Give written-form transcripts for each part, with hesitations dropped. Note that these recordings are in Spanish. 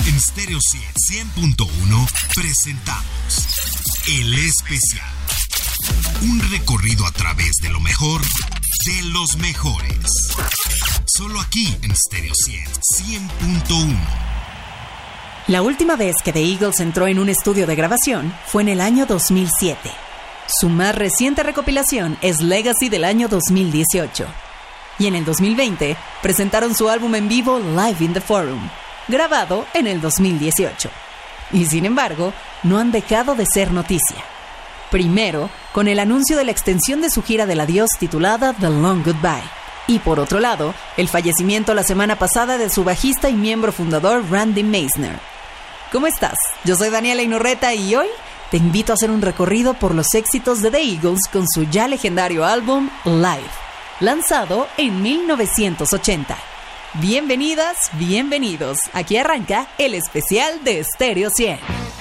En Stereo 100.1 presentamos El Especial. Un recorrido a través de lo mejor de los mejores. Solo aquí en Stereo 100.1. La última vez que The Eagles entró en un estudio de grabación fue en el año 2007. Su más reciente recopilación es Legacy del año 2018. Y en el 2020 presentaron su álbum en vivo Live in the Forum, grabado en el 2018. Y sin embargo, no han dejado de ser noticia. Primero, con el anuncio de la extensión de su gira del adiós titulada The Long Goodbye. Y por otro lado, el fallecimiento la semana pasada de su bajista y miembro fundador Randy Meisner. ¿Cómo estás? Yo soy Daniela Inurreta y hoy te invito a hacer un recorrido por los éxitos de The Eagles con su ya legendario álbum Live, lanzado en 1980. Bienvenidas, bienvenidos. Aquí arranca el especial de Stereo 100.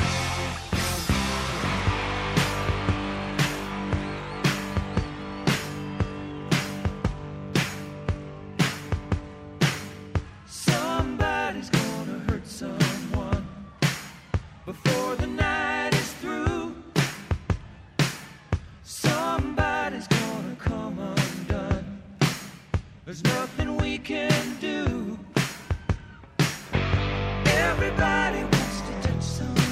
There's nothing we can do. Everybody wants to touch someone.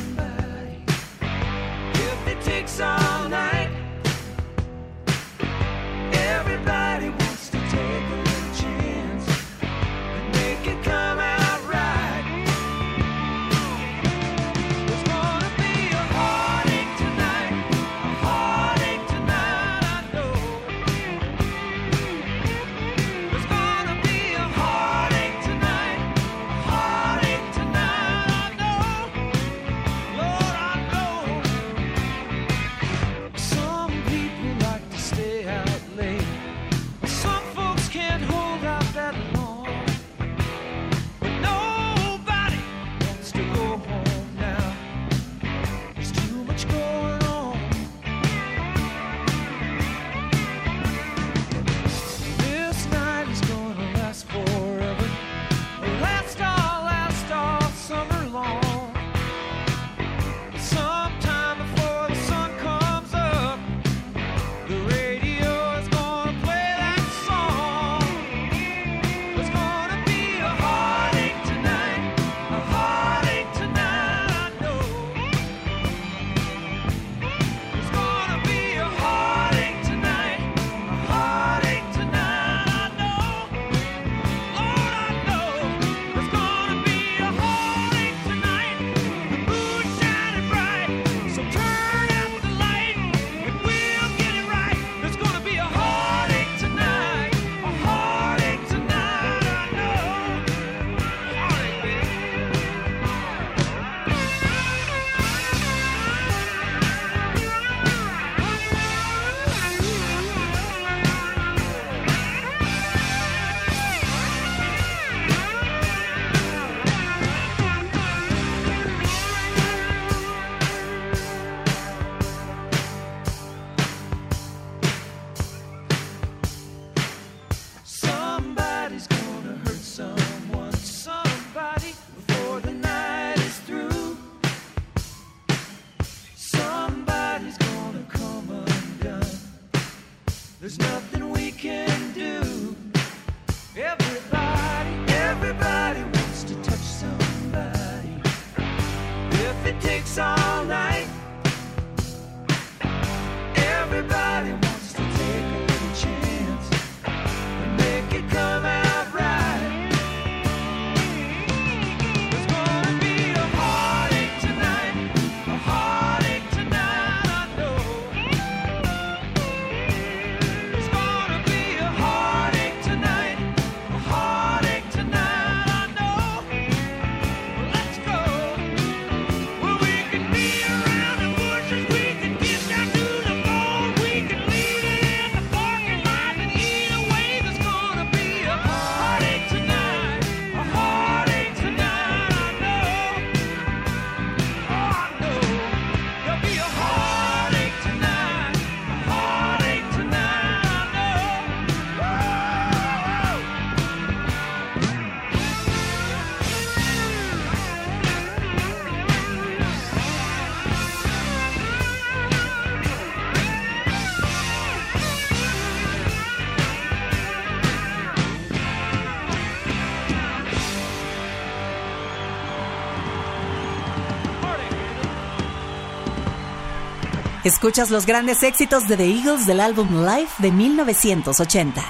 Escuchas los grandes éxitos de The Eagles del álbum Live de 1980.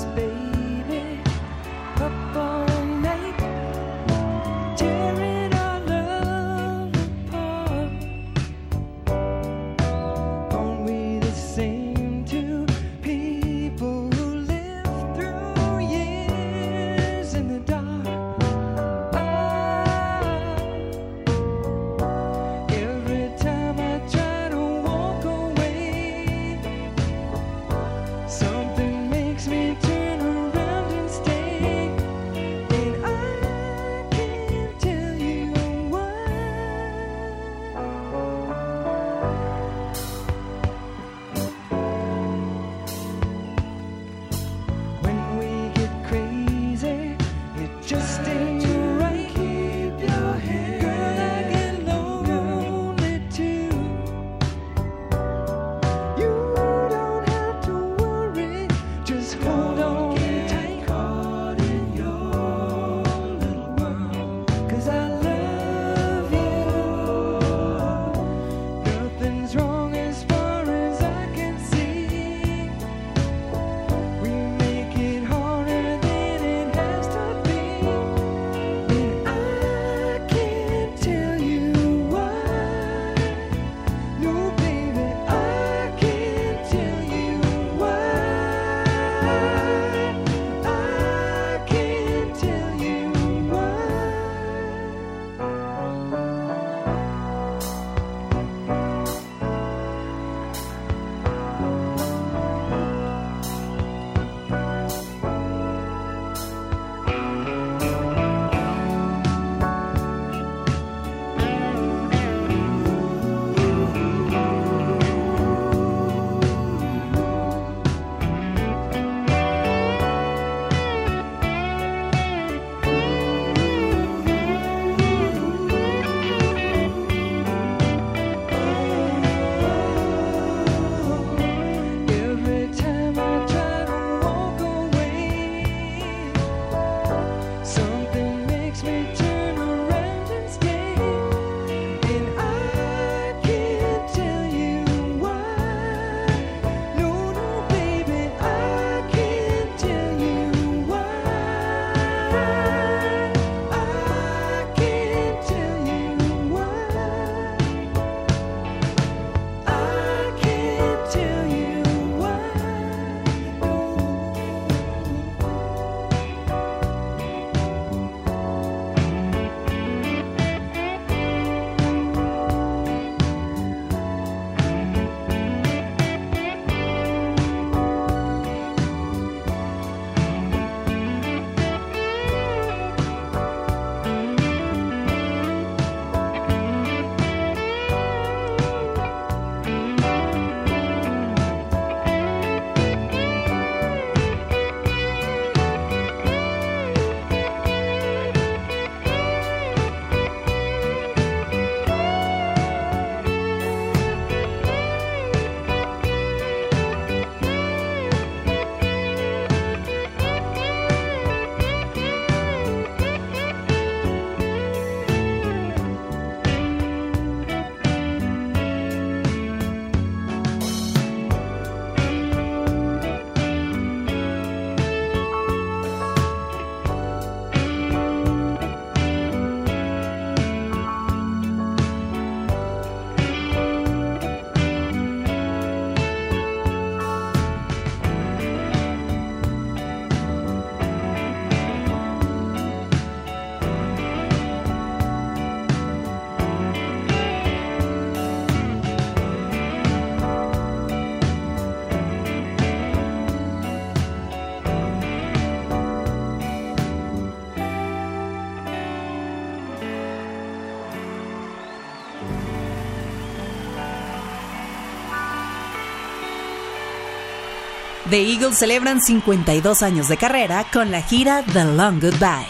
Tearing up The Eagles celebran 52 años de carrera con la gira The Long Goodbye.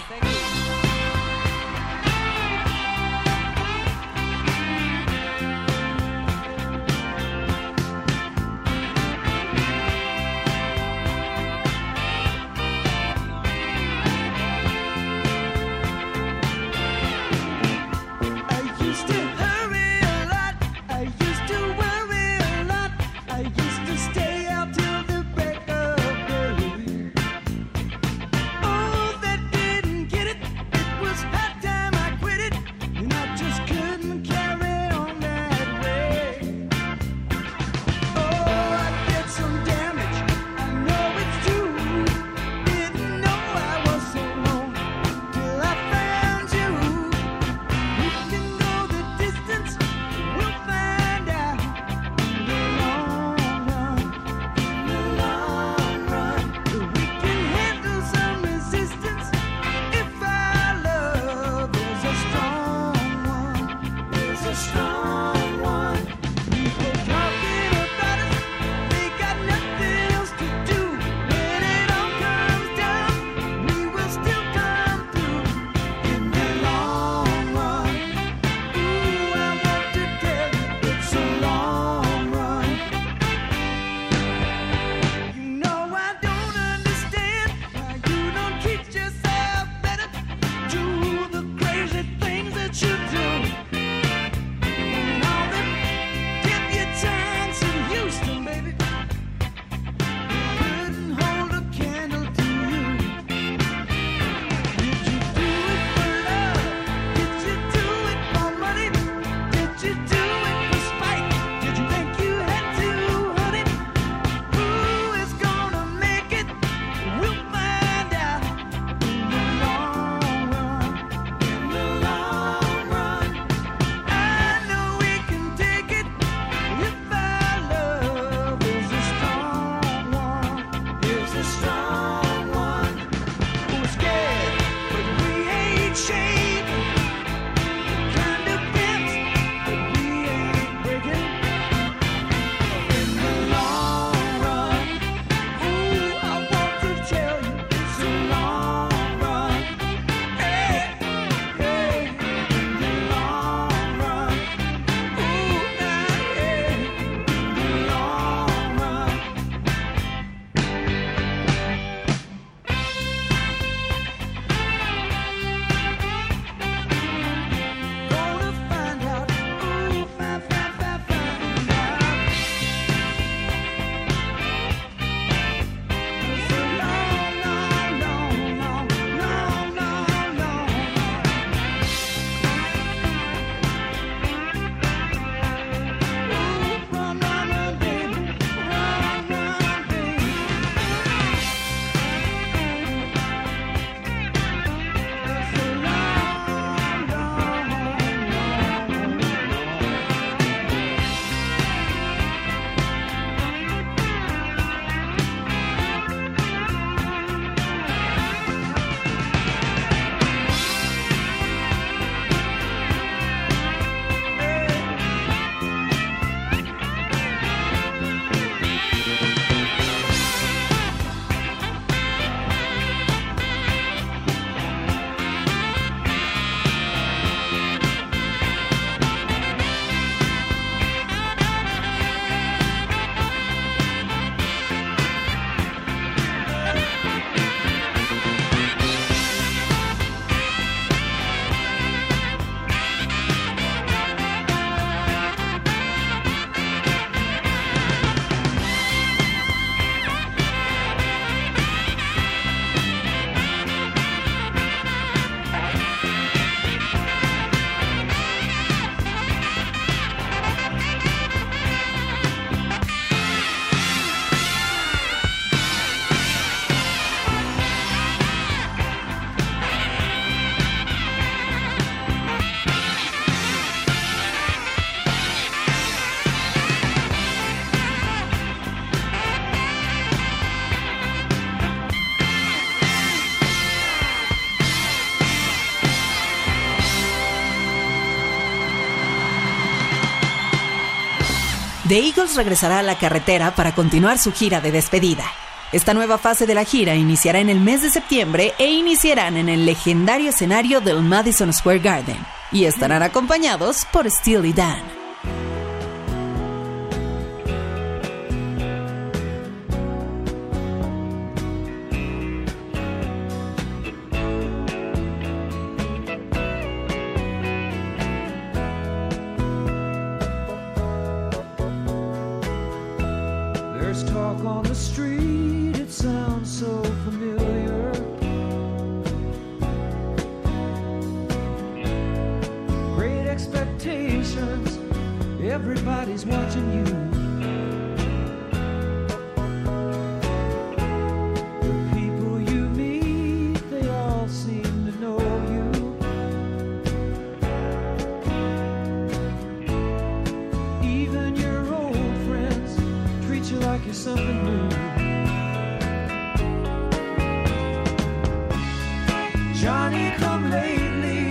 The Eagles regresará a la carretera para continuar su gira de despedida. Esta nueva fase de la gira iniciará en el mes de septiembre e iniciarán en el legendario escenario del Madison Square Garden y estarán acompañados por Steely Dan. There's talk on the street, it sounds so familiar. Great expectations, everybody's watching you. The people you meet, they all seem to know you. Even your old friends treat you like you're something new. Johnny come lately,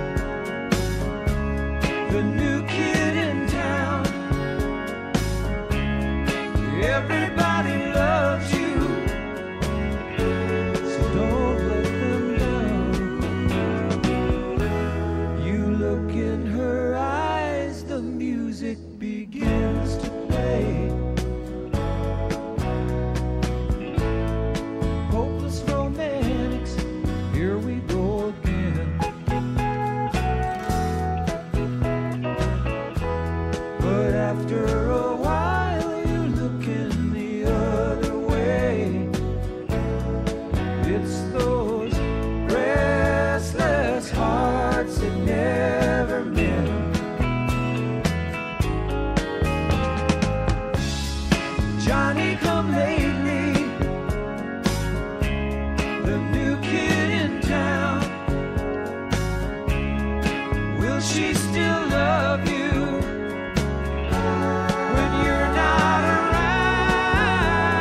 the new kid in town. Everybody loves you, so don't let them down. You look in her eyes, the music begins to play. Hopeless romantics, here we go again. But after a while you're looking the other way. It's those restless hearts that never mend. Johnny come lately, the new kid in town. Will she still love you when you're not around?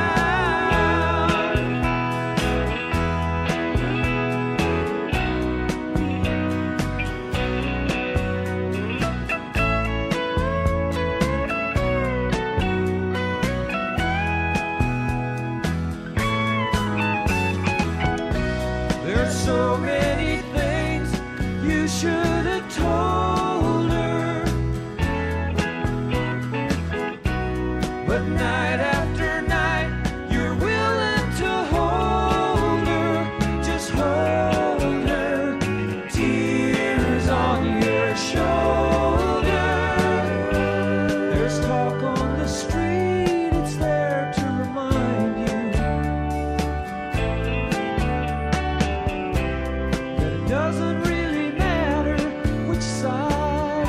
There's so many things you should have told her, but night after night you're willing to hold her, just hold her, tears on your shoulder. There's talk on the street, it's there to remind you that it doesn't really matter which side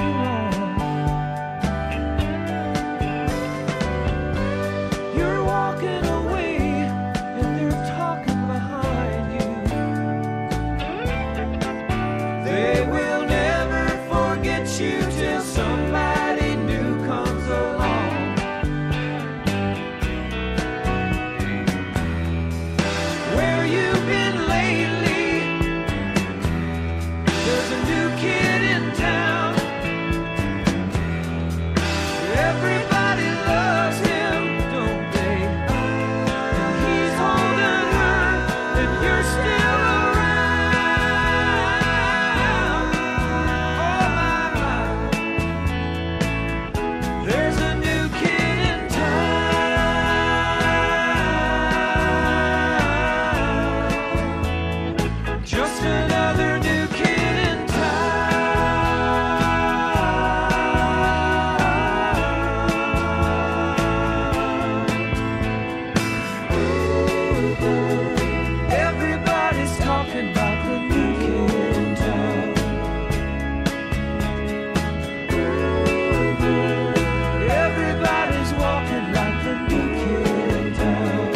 you're on. You're walking away and they're talking behind you. They will never forget you till somebody new comes along. Where you been lately? There's a new kid in town. Everybody loves him, don't they? And he's holding her, and you're still around. Oh my, my. There's a new kid in town. Just another new kid in town. Everybody's talking about the new kid in town. Everybody's walking like the new kid in town.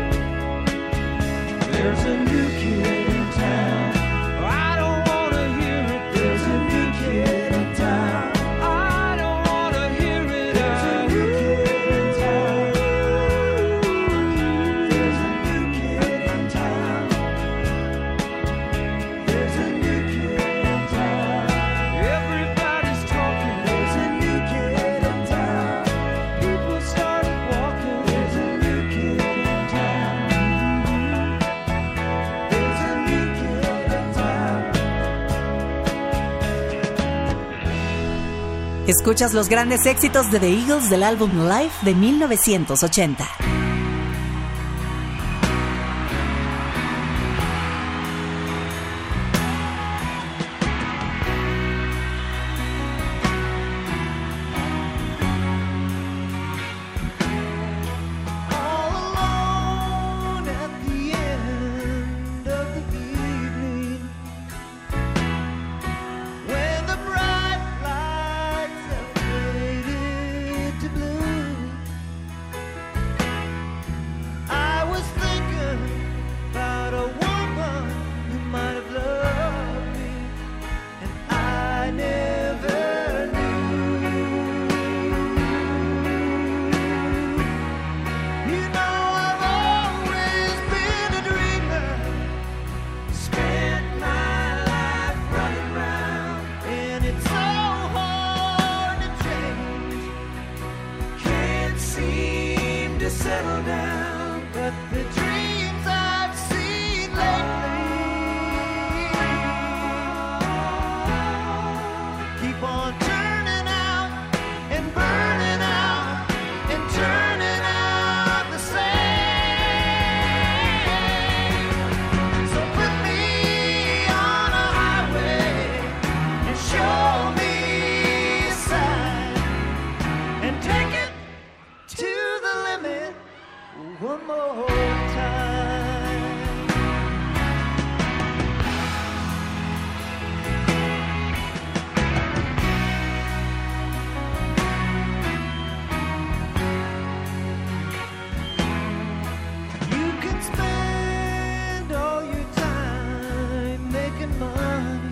There's a new kid in town. I don't wanna hear it. There's a new kid in town. I don't wanna hear it. There's a new kid in town. There's a new kid in town. There's a new kid in town. Everybody's talking. There's a new kid in town. People started walking. There's a new kid in town. Escuchas los grandes éxitos de The Eagles del álbum Live de 1980. Settle down, but the dreams I've seen lately keep on turning out and burning out and turning out the same. So put me on a highway and show me a sign and take it to the limit one more time. You can spend all your time making money.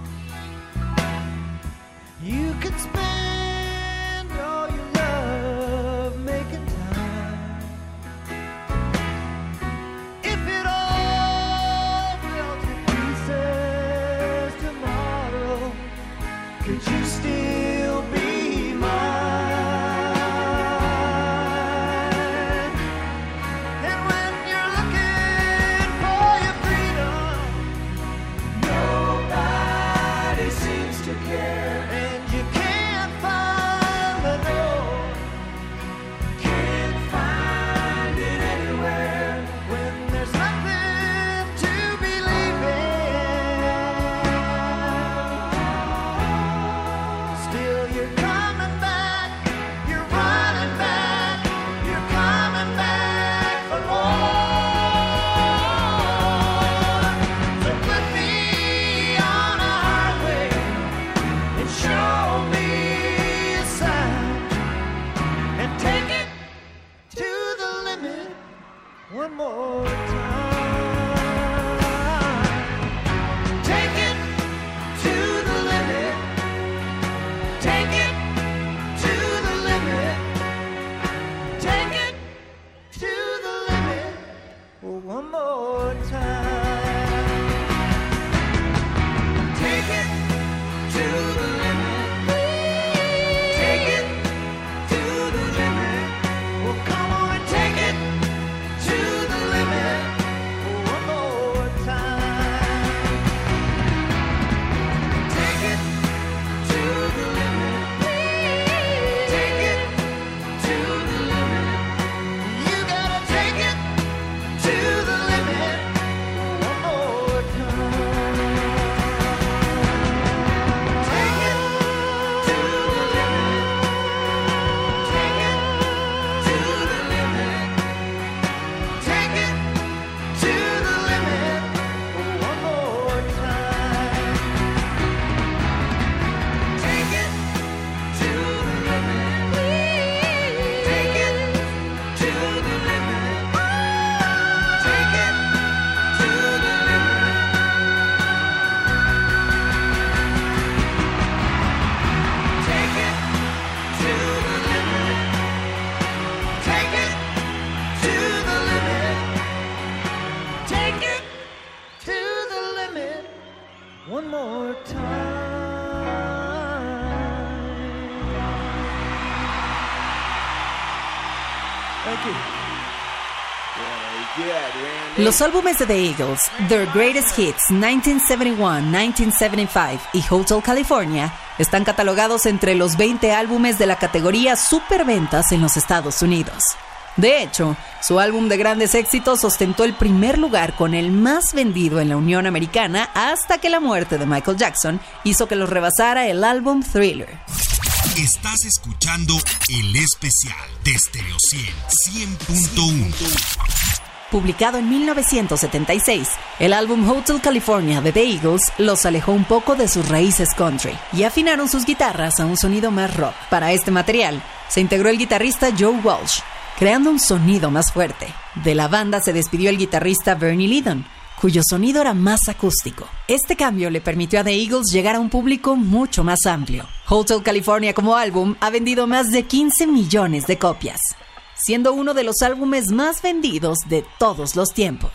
You can spend all your love making time. If it all fell to pieces tomorrow, could you still be mine? And when you're looking for your freedom, nobody seems to care, and you can't find the door, can't find it anywhere. When there's nothing to believe in, still you're coming back, you're running back, you're coming back for more. So put me on a highway and show me a sign and take it to the limit one more time. Take it to the limit. Take it to the limit. Take it to the limit one more time. Take it to the limit. Take it to the limit. Well, come on and take it to the limit one more time. Take it to the limit. Take it to the limit. You gotta take it to the limit one more time. Take it to the limit. Take it to the limit. Take it to the limit one more time. Take it to the limit. Take it to the limit. Take it to the limit. Take it to the limit. Take it to the limit. Take it to the limit one more time. Thank you. Los álbumes de The Eagles, Their Greatest Hits 1971, 1975 y Hotel California Están catalogados entre los 20 álbumes de la categoría superventas en los Estados Unidos. De hecho, su álbum de grandes éxitos ostentó el primer lugar con el más vendido en la Unión Americana hasta que la muerte de Michael Jackson hizo que los rebasara el álbum Thriller. Estás escuchando el especial de Stereo 100.1. Publicado en 1976, el álbum Hotel California de The Eagles los alejó un poco de sus raíces country y afinaron sus guitarras a un sonido más rock. Para este material, se integró el guitarrista Joe Walsh, creando un sonido más fuerte. De la banda se despidió el guitarrista Bernie Leadon, cuyo sonido era más acústico. Este cambio le permitió a The Eagles llegar a un público mucho más amplio. Hotel California como álbum ha vendido más de 15 millones de copias, siendo uno de los álbumes más vendidos de todos los tiempos.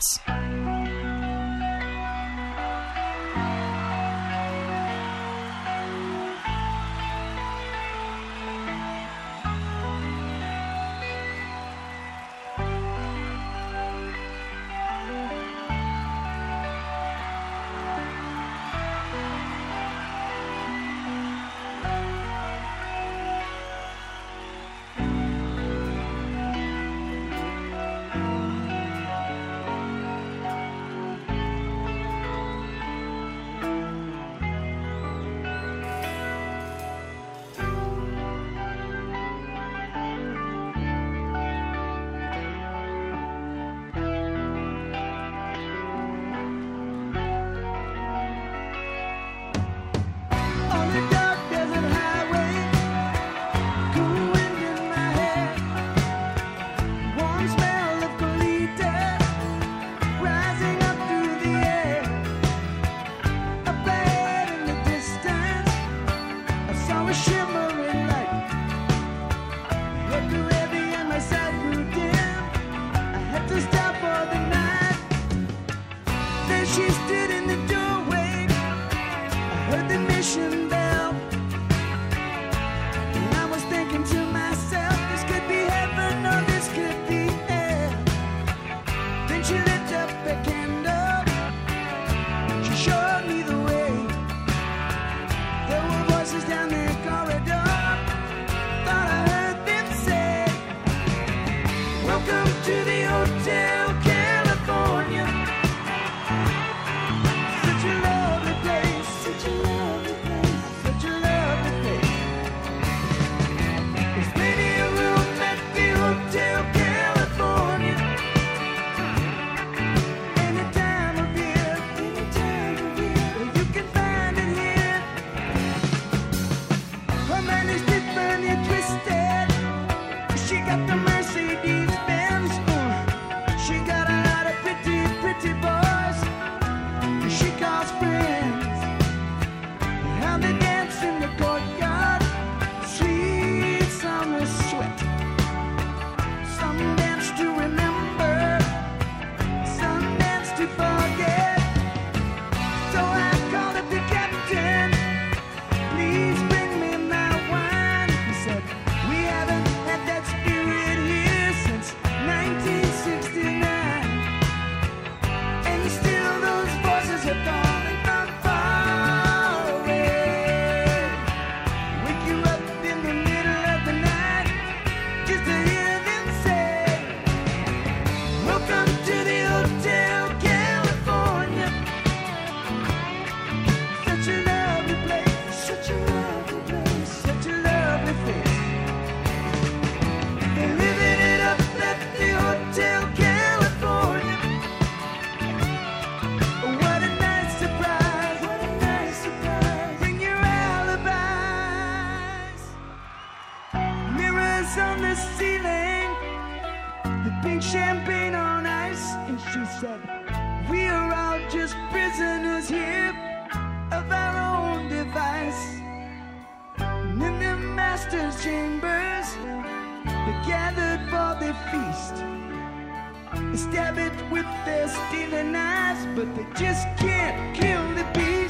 Stab it with their stealing eyes, but they just can't kill the beast.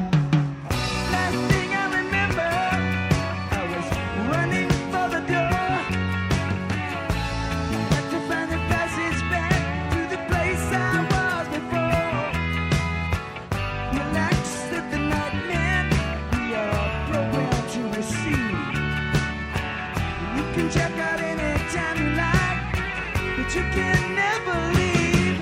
Last thing I remember, I was running for the door. Had to find the passage back to the place I was before. Relax, said the nightman, we are broken. you can never leave.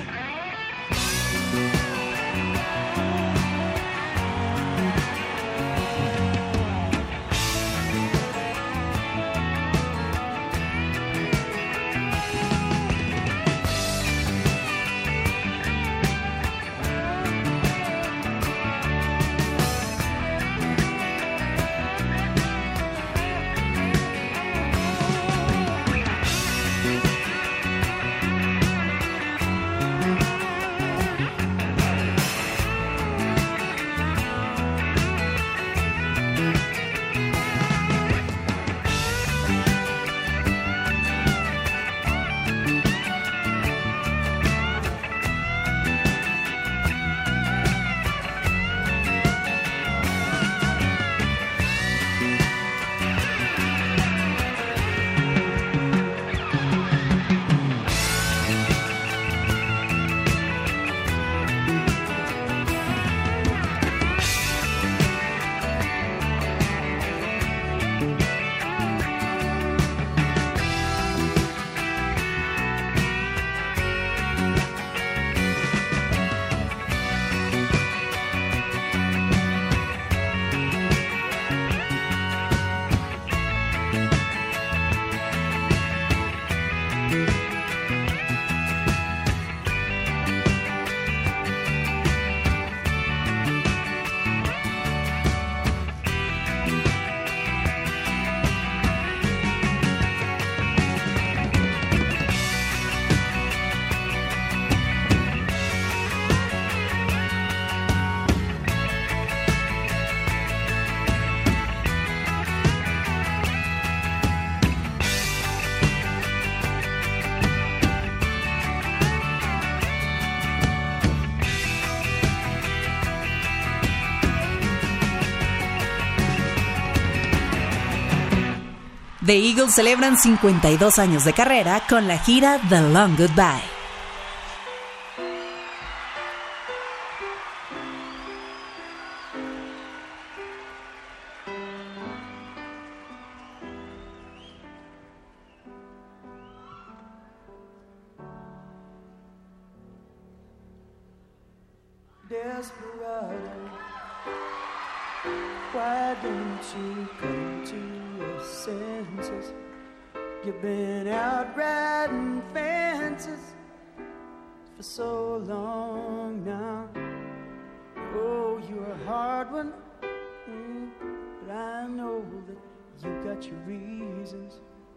The Eagles celebran 52 años de carrera con la gira The Long Goodbye. Desperado, why don't you come to your senses? You've been out riding fences for so long now. Oh, you're a hard one, but I know that you got your reasons.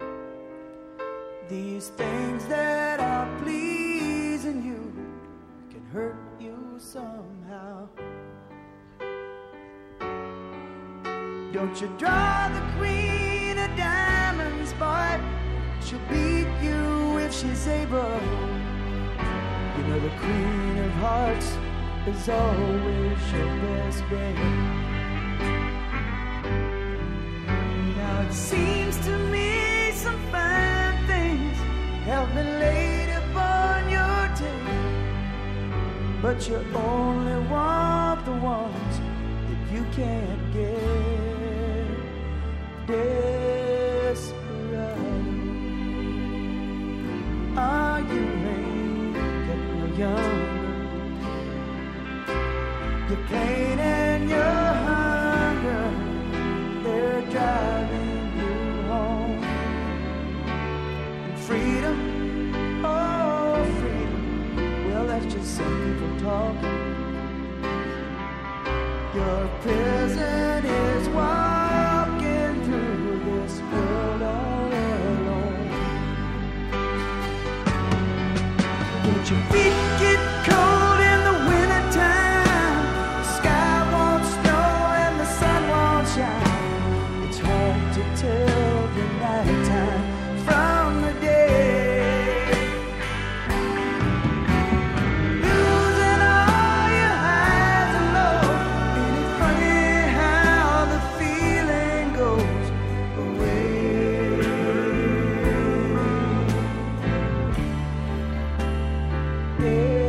These things that are pleasing you can hurt you somehow. Don't you draw the queen of diamonds, boy. She'll beat you if she's able. You know the queen of hearts is always your best bet. Now it seems to me some fine things have been laid upon your table, but you only want the ones that you can't get. Desperado, are you ain't getting no younger? Your pain and your hunger, they're driving you home. And freedom, oh freedom, well that's just some people talking. Your prison is walking through this world all alone. Don't your feet get cold in the wintertime? The sky won't snow and the sun won't shine. It's hard to tell the nighttime from the day. Losing all your highs and lows, and it's funny how the feeling goes away.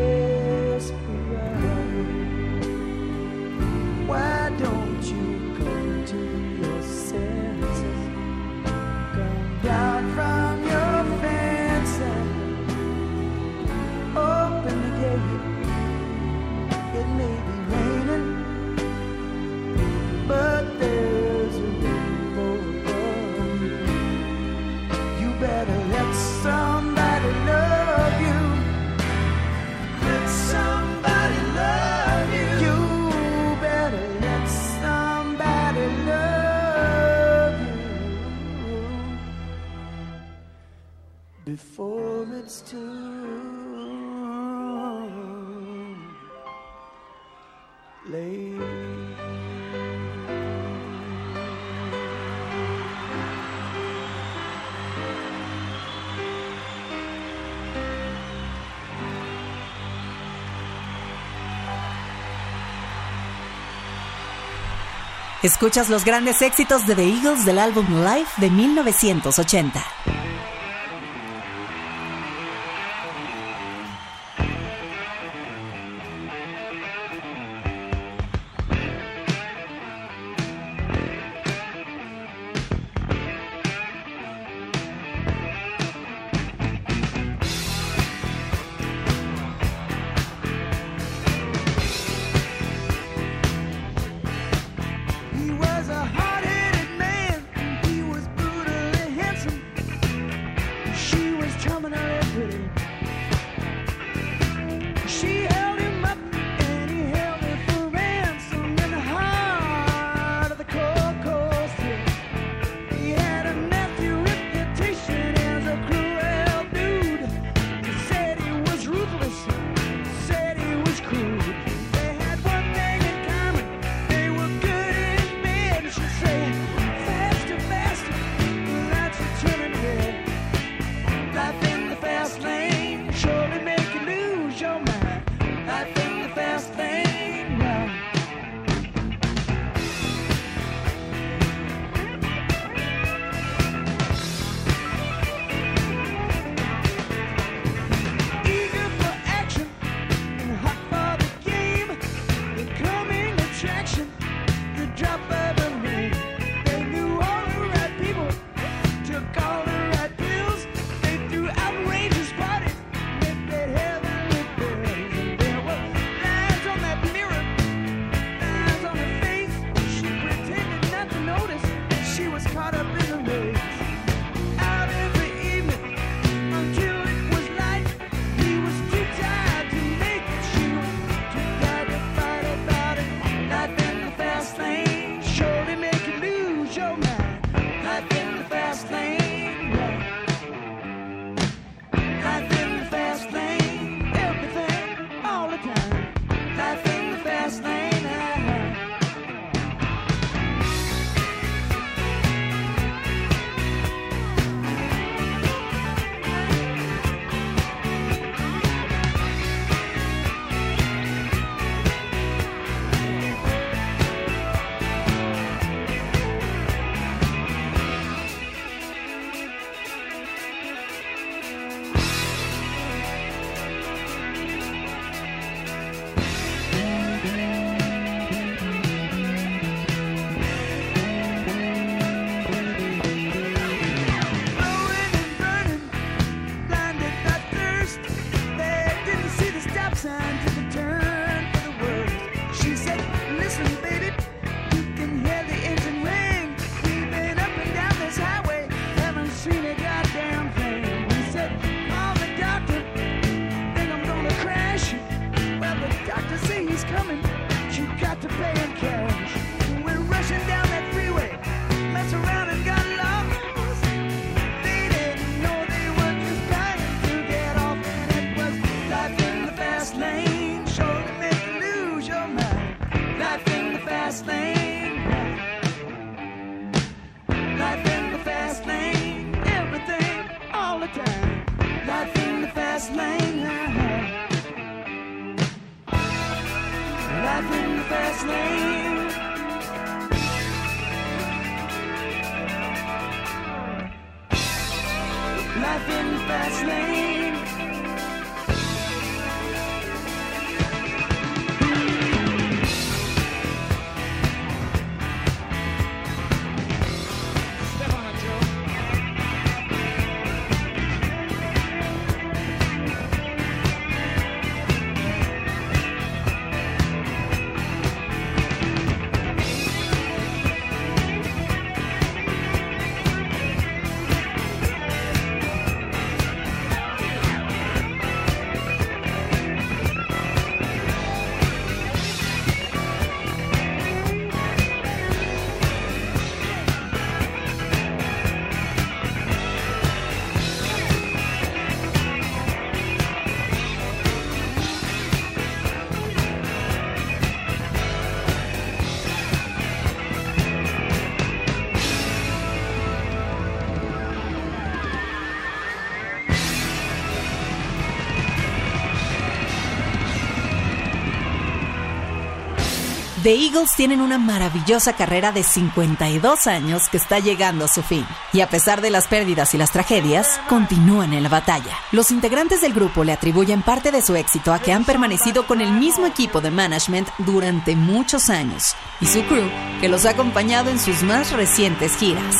before it's too late. Escuchas los grandes éxitos de The Eagles del álbum Live de 1980. He was a hard-headed man. He was brutally handsome. She was terminally pretty. She held him up and he held her for ransom in the heart of the cold, cold city. He had a nasty reputation as a cruel dude. He said he was ruthless, said he was crude. They had one thing in common. They were good in bed. She said, faster, faster, that's a turning red. Life in the fast lane surely make you lose your mind. Life in the fast lane, right. Eager for action and hot for the game, the coming attraction, the drop of the rain. They knew all the right people, took all the right pills. They threw outrageous parties, they paid heavenly bills. And there were lines on that mirror, lines on her face. She pretended not to notice she was caught up in the race. Out every evening until it was light. He was too tired to make it. She was too tired to fight about it. Life in the fast lane surely make you lose your mind. Life in the fast lane, yeah. Life in the fast lane, everything, all the time. Life in the fast lane, blowing and burning, blinded by thirst. They didn't see the stop sign, took a turn for the worst. She said, listen, baby, you can hear the engine ring. We've been up and down this highway, haven't seen a goddamn thing. He said, call the doctor, think I'm gonna crash. Well, the doctor say he's coming, you got to pay in cash. We're rushing down that freeway, mess around and got lost. They didn't know they were just dying to get off, and it was life in the fast lane, surely make you lose your mind. Life in the fast lane, life in the fast lane, everything, all the time. Life in the fast lane, life in the fast lane. Life in the fast lane. Step on it, Joe. The Eagles tienen una maravillosa carrera de 52 años que está llegando a su fin. Y a pesar de las pérdidas y las tragedias, continúan en la batalla. Los integrantes del grupo le atribuyen parte de su éxito a que han permanecido con el mismo equipo de management durante muchos años y su crew que los ha acompañado en sus más recientes giras.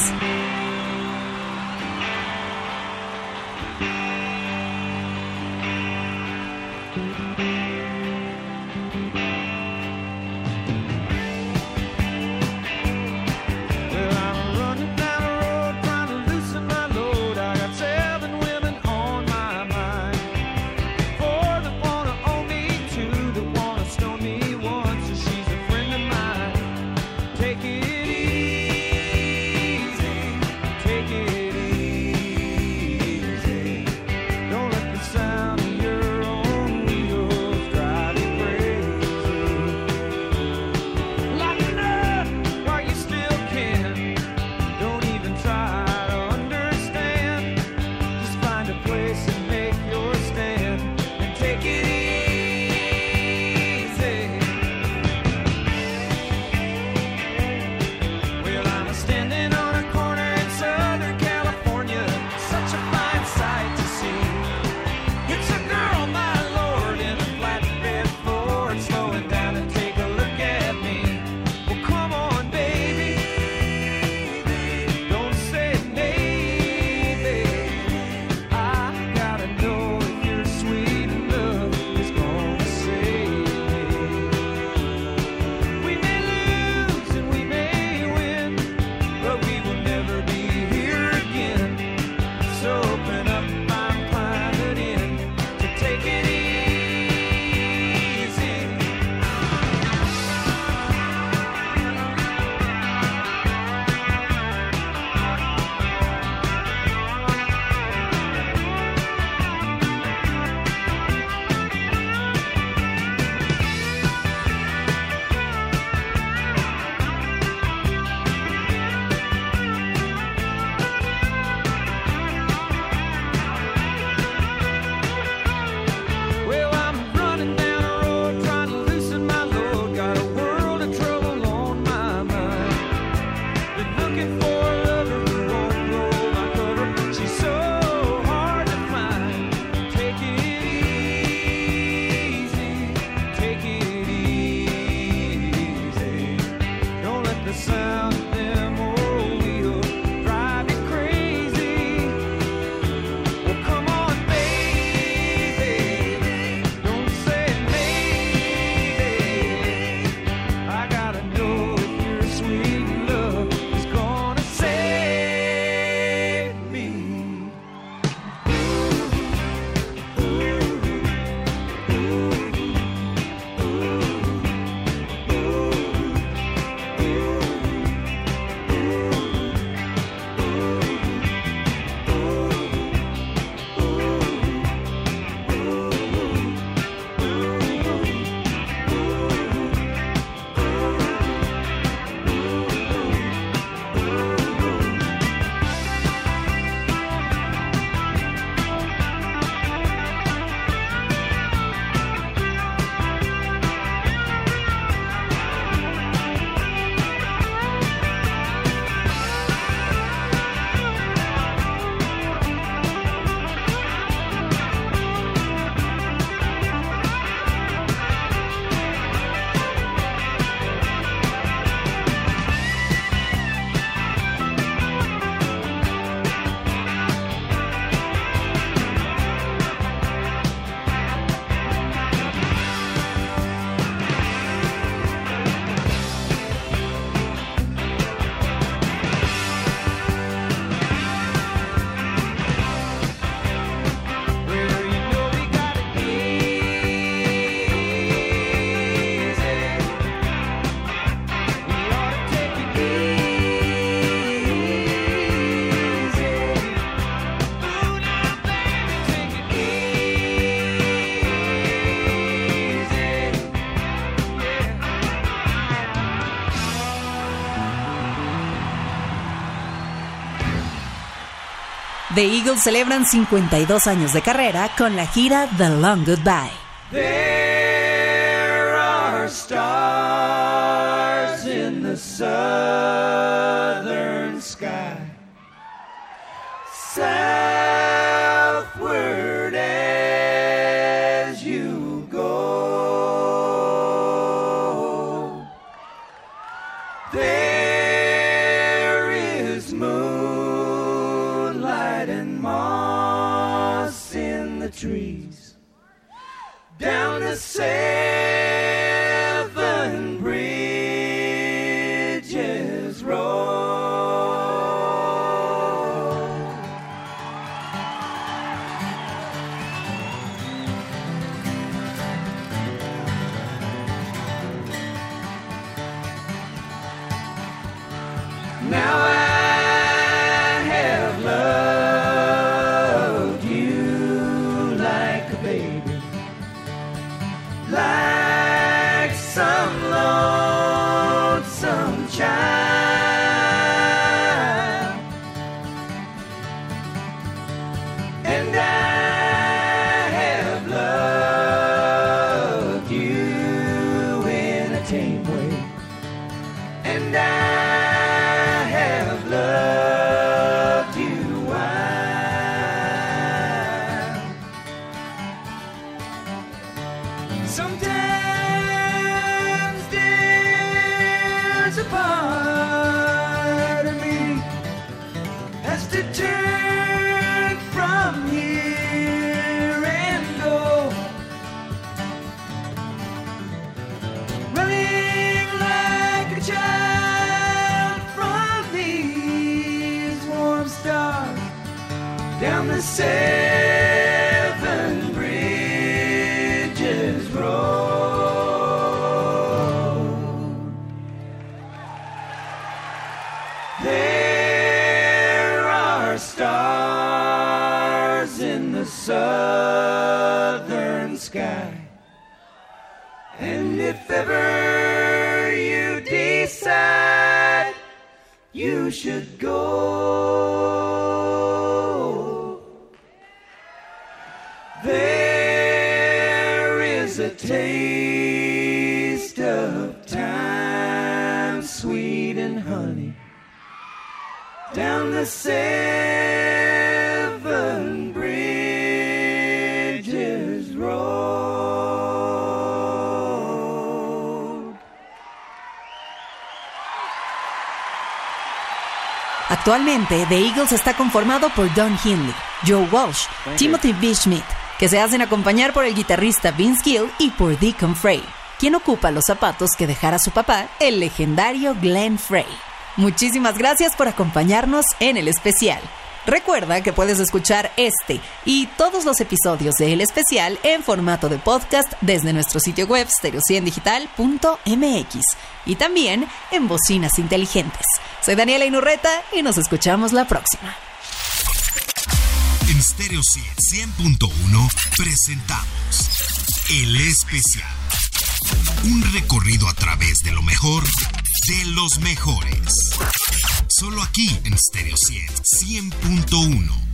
The Eagles celebran 52 años de carrera con la gira The Long Goodbye. There are stars southern sky. Southward as you go, there is moonlight and moss in the trees. Down the seven bridges roll. Now I have loved you like a baby, like some lonesome child, and I have loved you in a tame way, and I have loved you wild. Sometimes there's a part of me has to turn from here and go, running like a child from these warm stars down the seven bridges road. There are stars in the southern sky, and if ever you decide you should go, there is a taste of time, sweet and honey, down the seven bridges road. Actualmente, The Eagles está conformado por Don Henley, Joe Walsh, Timothy B. Schmidt, que se hacen acompañar por el guitarrista Vince Gill y por Deacon Frey, quien ocupa los zapatos que dejara su papá, el legendario Glenn Frey. Muchísimas gracias por acompañarnos en el especial. Recuerda que puedes escuchar este y todos los episodios de El Especial en formato de podcast desde nuestro sitio web stereo100digital.mx y también en bocinas inteligentes. Soy Daniela Inurreta y nos escuchamos la próxima. En Stereo 100.1 presentamos El Especial. Un recorrido a través de lo mejor de los mejores. Solo aquí en Stereo 100.1.